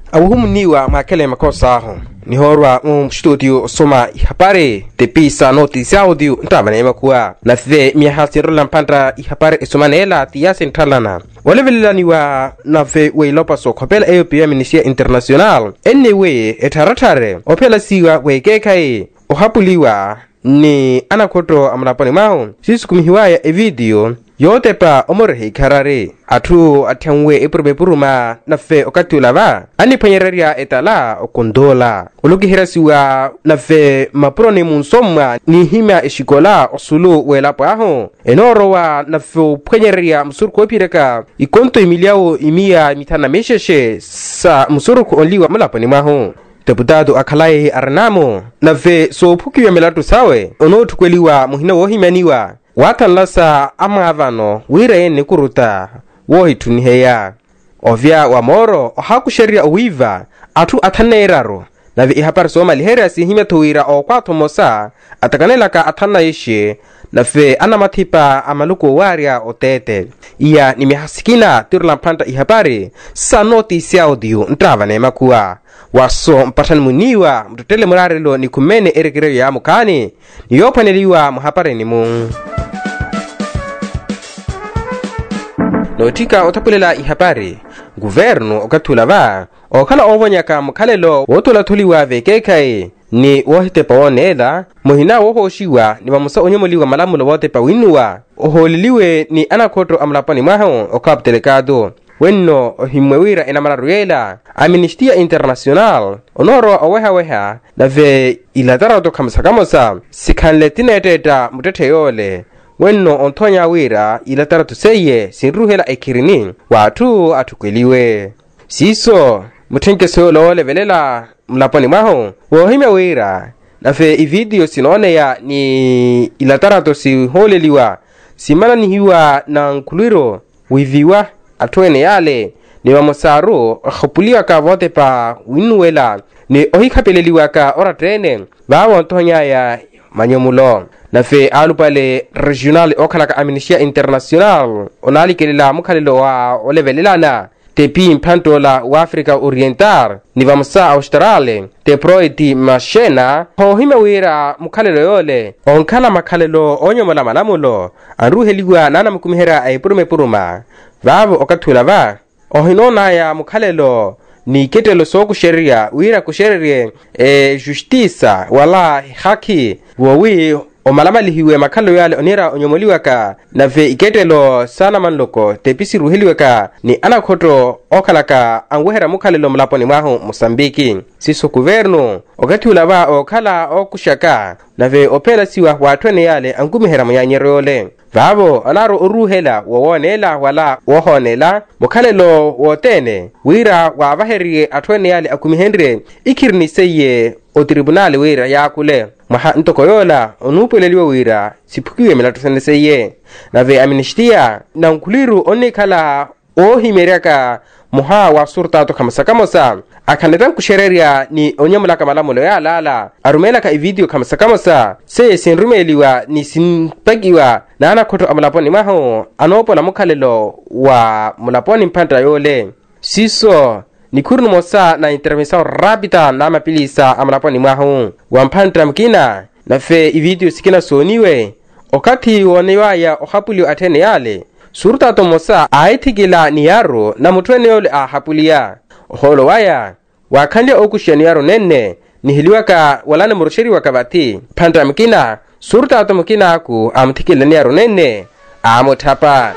Awuhumniwa makele makosaho ni horwa studio soma ihapare tepisa noticia audio ntabane makuwa na fe mihasiro lampandra ihapare isomanela tia centralana walevelaniwa na fe weilopa so kopela EUPM Ministry International anyway etaratare opela siwa wekekai ohapuliwa ni anakoto amlapani mao sisi kumihiwaya e video yote pa omorehi karare atu atyanwe epuruma na fe okatulava ani panyereria etala okondola uluki hirasiwa na fe maproni munsomwa ni hima eshikola osulu welapo aho enorowa na fe panyereria msurku opireka ikonto imiliao imia mitana mesheshe sa msurku onliwa malapani maho deputado akalai arnamo na fe so pukiwe melatu sawe onotukweliwa muhina wohimaniwa watalasa amavano wire ni kuruta wohituniheya ovya wa moro ohakusheria owiva atu ataneiraro na vi ihapar soma liheria sihime tuwira okwato mosa atakanelaka atana ishe na fe anamatipa amaluko waria otete iya nimihasikina turlampanta ihapari sa noticia audio ntravane makuwa waso mpatan muniwa mtutele murarelo ni kumene erekere ya mukani niyopaneliwa muhapare ni mu notika otapulela ihapari guvernu okatulava okala ovonyaka mukhalelo wotulatuliwa vekekai ni wohite pawonela muhina wohoshiwa ni bamusa onyomoliwa malamulo wote pawinuwa oholiliwe ni anakoto amlapani mwaho okaptelekado wenno ohimwewira enamararuela Amnistia International onoro oweha na ve ilatarato kamsakamosa sikanletineteta muteteyole wenno ontonya wira ilatarato seye sinruhela ekirini watu atukweliwe siso mutenkeso levelela mlapani mwaho wohimwewira na ve ivideo sinone ya ni ilatarato si holeliwa simana nihiwa na nkuliro wiviwa atwene yale ni wamosaru khupuliwa ka vote pa winuela ni ohikapeleliwa ka oratrene bawo ntonya ya manyomulo na fe alupale regional okalaka Amnistia International onali kelela mukhalelo wa olevelelana tepi mpantola wa Africa Oriental ni vamsa Australia te proiti mashena hohime wira mukhalelo yole onkala makhalelo onyomola malamulo aruheliwa nana mukumihera ayipuruma vavo okatulava ohinona ya mukhalelo ni ketelo soku sheria wira kusherie justiça wala haki wowi omalamalihiwe makhalo yale onera onyomoliwaka na ve iketelo sana manloko tepisi ruheliweka ni anakhoto okhalaka angwehera mukhalelo mlaponi mwaho Mosambiki siso governo okatulava okhala okushaka na ve opela siwa watwene yale angumihera muyanyerole vavo anaro uruhela wowonela wala wohonela mukhalelo wotene wira wavaherie atwene yale akumihendre ikiriniseye o tribunal wira yakule maha ntokoyola onupeleliwe wira sipukiwe melatuseneseye na ve Amnistia na nkuliru onikala ohimereka muha wa surtato kamasakamosa akanetan kushereria ni onyamulaka malamulo ya lala arumela ka video kamasakamosa se sinrumeliwa ni sinpagiwa na anakoto amlaponi maho anopola mukhalelo wa mulaponi mpanta yole siso ni kurnu mosa na intervention rapida na mapilisa amlaponi maho wampanta mkina na fe video sikina soniwe okati wonewa ya ohapuli atene yale surtato mosa aitigila niyaro na mutwene yole ahapulia holo waya wakandi okushani yaro nenne nihiliwaka walana murushiri wakabati panta mkina surtato mkina aku amtikila niyaro nenne amotapa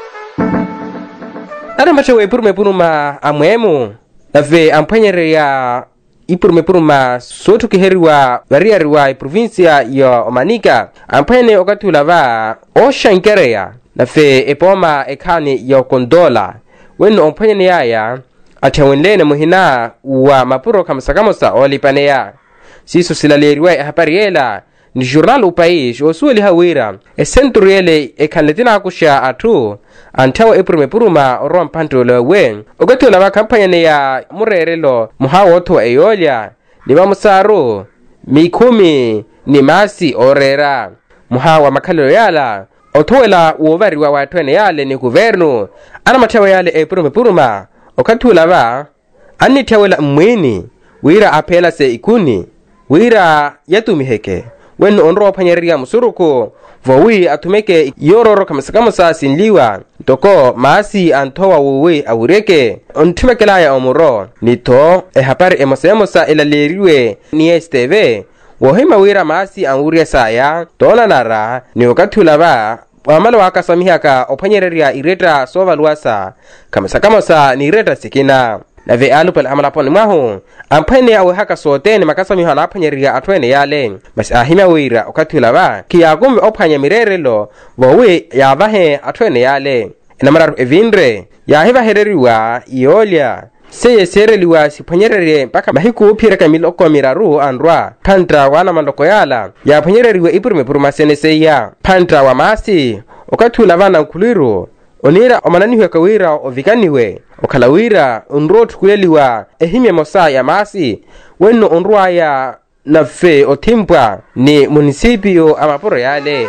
nare machewe puruma amwemu na ve ampanyere ya puruma sotu kiheriwa variariwa provincia ya Omanika ampanyene okatulava oshankereya na fe epoma ekani ya kondola wenu ompanyene yaya atawendene muhina wa mapuro kamasakamosa olipaneya siso silaleriwa hapariela ni journal upaish osueli hawira centuriele ekanletina akusha atu antawa puruma rompantola wen ogatola ba kampanya ya murerelo muhawoto eyolya ni bamusaru mikumi ni masi orera muhawa makhalelo yala otowela wovariwa watwene yale ni governo ana matewa yale puruma okatula ba ani tiawela mwini wira apela se ikuni wira yatumiheke wenu onro panyeria musuruko vowi atumeke yororo kamasakamusa sinliwa toko maasi antowa wuwi awureke ontumekela ya omuro nito hapari emosemosa elaleriwe ni STV wohima wira maasi anwuria saya tona nara ni wakatulaba wamalo wakasamihaka opanyeria ireta sova luasa kamasakamusa ni ireta sikina na ve alupal amalaponi mahu ampene awe haka sote ni makasami hana apanyeria atwene yale mas ahima wira okatulaba kiyagume opanya mirerelo wowe yavahe atwene yale na mararu evindre ya hiva hereriwa iolia seye sereliwa sipanyerere mpaka mahiku pireka miloko miraru andwa pantra wana mandoko yala ya panyereriwa ipurume puruma seya pantra wa maasi okatulaba na nkuliru onira omananiwe kawira ovikaniwe okalawira onrotu kuleliwa ehime mosa ya maasi wenu onrua ya nafe otimpwa ni munisipio amaporo yale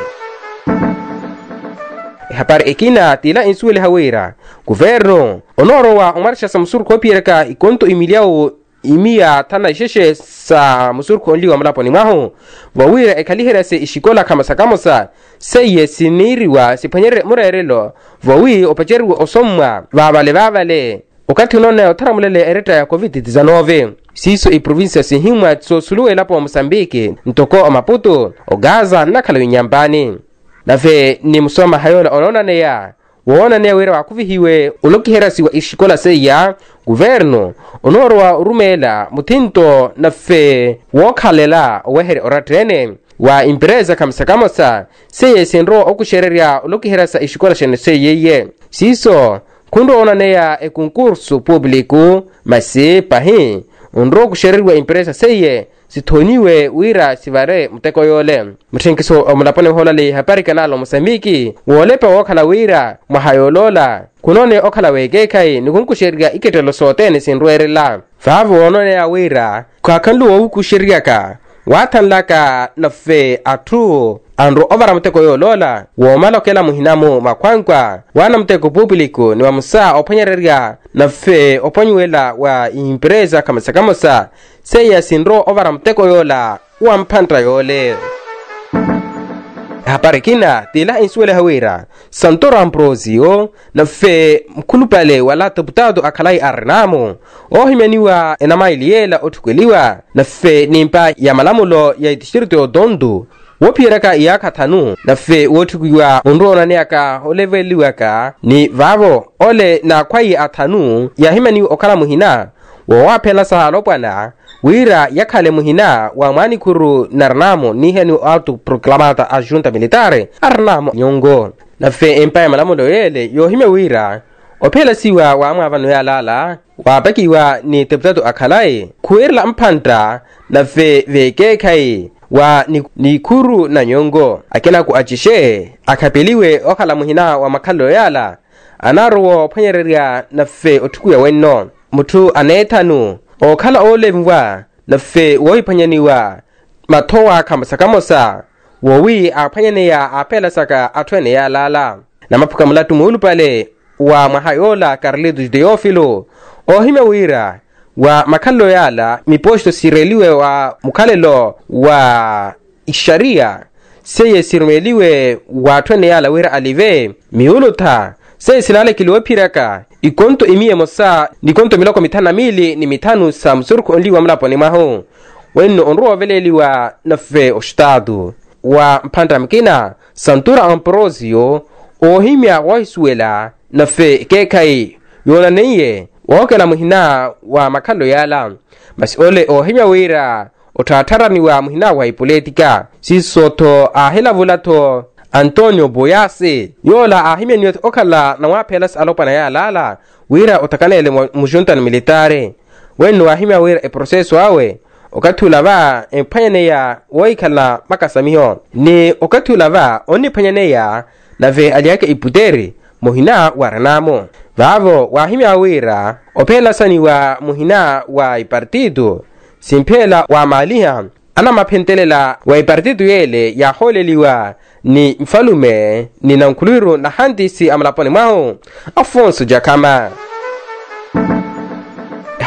hapari ikina tila insuele hawira guverno onoro wa omarsha sa musur kopiereka ikonto imiliao imia tana isheshe sa musur konliwa malaponi mahu wawira ekalihera se ishikola kamasakamosa seye siniriwa sipanyere murerelo wawi opacheriwa osomwa vavale wakati unone otaramulele ereta ya COVID-19 siso provincia sihimwa tsosuluwe lapo wa Mosambiki ntoko o Maputo o Gaza na Kalawinyambani nafe ni musoma hayola ononane ya wona ne wera wakuvihiwe ulokiherasi wa ishikola seya guverno onorwa urumela mutinto nafe wokhalela owehere oratrene wa empresa kamasakamosa seye senro okushereria ulokiherasa ishikola shene seyeye siso kundo onaneya e concurso público masi pahi onro kushereriwa empresa seye sithoniwe wira sivare muteko yole muthenkiso omulapone holale hapari kanalo Mosambiki wolepa okhala wira mahayolola kunone okhala wegekai nikunkusheria iketelo sote senroerela vavo onone ya wira kwakanlu wokusheriaka watanlaka nafe atu andro ovara muteko yolola womalokela muhinamu makwankwa wana muteko público ni wamusa opanyereria nafe opanyuela wa empresa kamasakamosa seya sinro ovara muteko yola wampantra yole haparikina tila insuele hawira Santoro Ambrosio nafe mkulupale wala deputado akalai arnamo ohimeniwa enamailiela otukweliwa nafe nimpa ya malamulo ya distrito Dondo wopiraka iyaka tanu nafe wotukuwa onrona neaka oleveliwaka ni vavo ole na kwai atanu ya himeni okala muhina wawapela sahalopana wira yakhale muhina wa manikuru narnamo niheni autoproclamata a junta militare arnamo nyongo nafe empaya malamulo yele yohime wira opela siwa wa amavano ya lala wabakiwa ni deputado akalai kuerla mpanta nafe vekekai wa nikuru na nyongo akena ku achishe akapeliwe okala muhina wa makalo yala anarwo panyereria nafe otukuya wenno mutu anetanu okala olevwa nafe woipanyaniwa matowa kamasakamosa wowi apanyaneya apela saka atwene ya lala na mapuka mulatu muulupale wa mahayola Carlitos Deofilo ohime wira wa makalo yala miposto sireliwe wa mukalelo wa isharia seye sirmeliwe wa twene yala wira alive miuluta seye silale kiliwepiraka ikonto imiye mosa nikonto miloko mitana mili ni mitanu sa msurku onliwa mlaponi maho wenu onruwa veleliwa nafe ostado wa mpanda mkina Santoro Ambrosio ohimia waisuela nafe kekai yona neye wakela muhina wa makalo yala basi ole ohimia wira otatarani wa muhina wa ipolitika sisoto ahela vulato Antonio Boyase yola ahimia nyot okala na wapelas alopana ya lala wira otakanele mujunta militare wenu ahimia wira e proceso awe okatulava empanyaneya woikala makasamiho ni okatulava oni panyaneya nave aliake iputeri muhina waranamo vavo wahimia wira opela sani wa muhina wa ipartido simpela wa maliha ana mapentelela wa ipartido yele ya holeliwa ni mfalume ni nankuliro na handisi amalaponi maho Afonso Jakama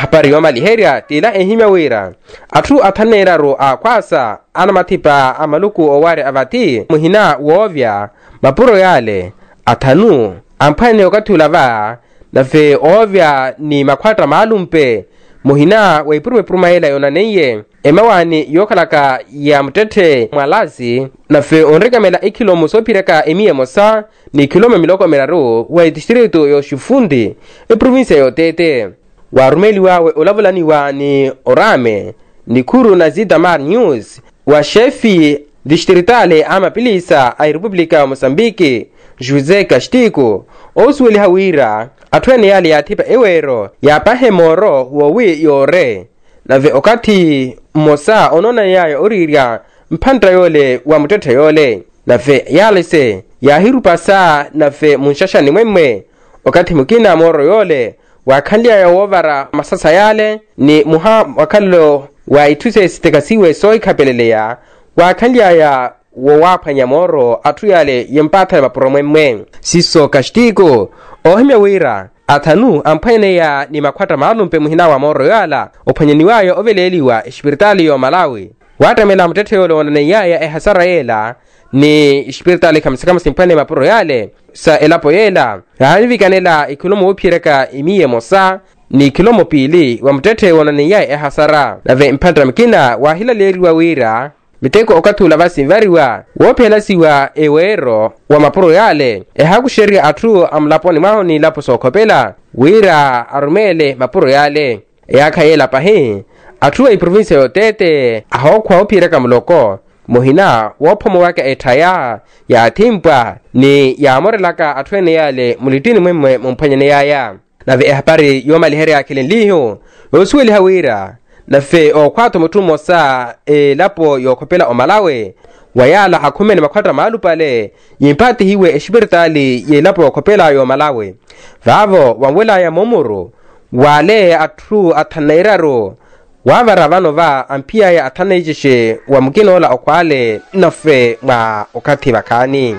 hapari yoma liheria tila ehimya wira atu athanera ro akwasa ana mathipa amaluku oware avati muhina wovya mapuro yale athanu amphane okathulava nafe ovya ni makhwatra maalumpe muhina waipurwe prumaela yona neye emawani yokhalaka ya mtethe mwalazi nafe onrekamela ikilomo sopireka emiye mosa ni kilomo miloko meraru wa distrito yo Shifundi provinsia yo Tete warumeli wawe olavulaniwa ni Orame ni Kuru na Zidamar News wa shefi distritale ama pilisa a República Moçambique José Castigo osweli hawira atwene yali yathipa ewero yapahe moro wowi yore nave okati mosa onona yayo oriria mphantra yole wa mutethe yole nave yalese yahirupasa nave munshashani mwemwe okati mukina moro yole wakhandia ya wovara masasa yale ni muha wakalo wa ituse sitekasiwe soi kapeleleya wakhandia ya wowaphanya moro atu yale yempatha mapromwemwe siso Castigo ohimya wira athanu amphane ya ni makhwatra maalumpe muhina wa moro yala ophanyaniwayo oveleliwa espirituali yo Malawi watamela mutethe yole onane yaya ehasaraela ni espirituali kamsikama simphane mapuro yale sa elapo yela halivikanela ikilomo uphireka imiye mosa ni kilomo pili wa mutethe onane yaya ehasara nave mphantra mkina wahilaleliwa wira miteko okathula vasimvariwa wophelasiwa ewero wa mapuro yale ehakusheria atu amlaponi mahoni lapo sokhopela wira arumele mapuro yale eyakhayela pahi atu wa provinsia yo Tete ahokhwa ophireka muloko muhina wophomo wake ethaya ya thimpwa ni yamorelaka atwene yale mulitini mwemwe mumphanyane yaya nave ehapari yoma lihere akhilenliho yosuweli hawira nafe okhwato mutumo sa lapo yokhopela omalawe wayala hakhumene makhwatra maalupale yimpati hiwe espirituali ye lapo yokhopela yo Malawi vavo wamwela ya momoro wale atu athanairaro wavara vano va ampia ya athanaijeshe wa mukinola okwale nafe mwa okathi vakhani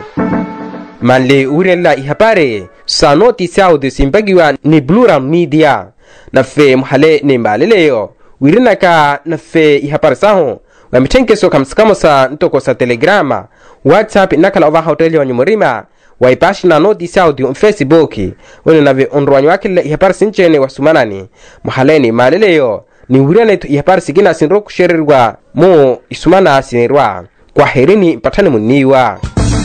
manle urela ihapare sa notice audio simbagiwa ni Plural Media nafe mhale ni mbaleleyo wirinaka nafe ihaparisaho wa mithenkeso kamsikamosa ntokosa Telegrama WhatsApp nakala ova hoteli wa nyumurima wa ipashina notice audio Facebook wene nave onrwanyo wakile ihaparisinchene wa sumanani mhaleni maleleyo ni wirana itu ihaparisikina sinro kusherirwa mu isumana sinirwa kwa herini mpatane muniwa.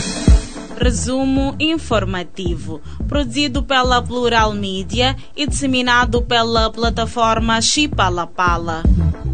Resumo informativo, produzido pela Plural Media e disseminado pela plataforma Chipalapala.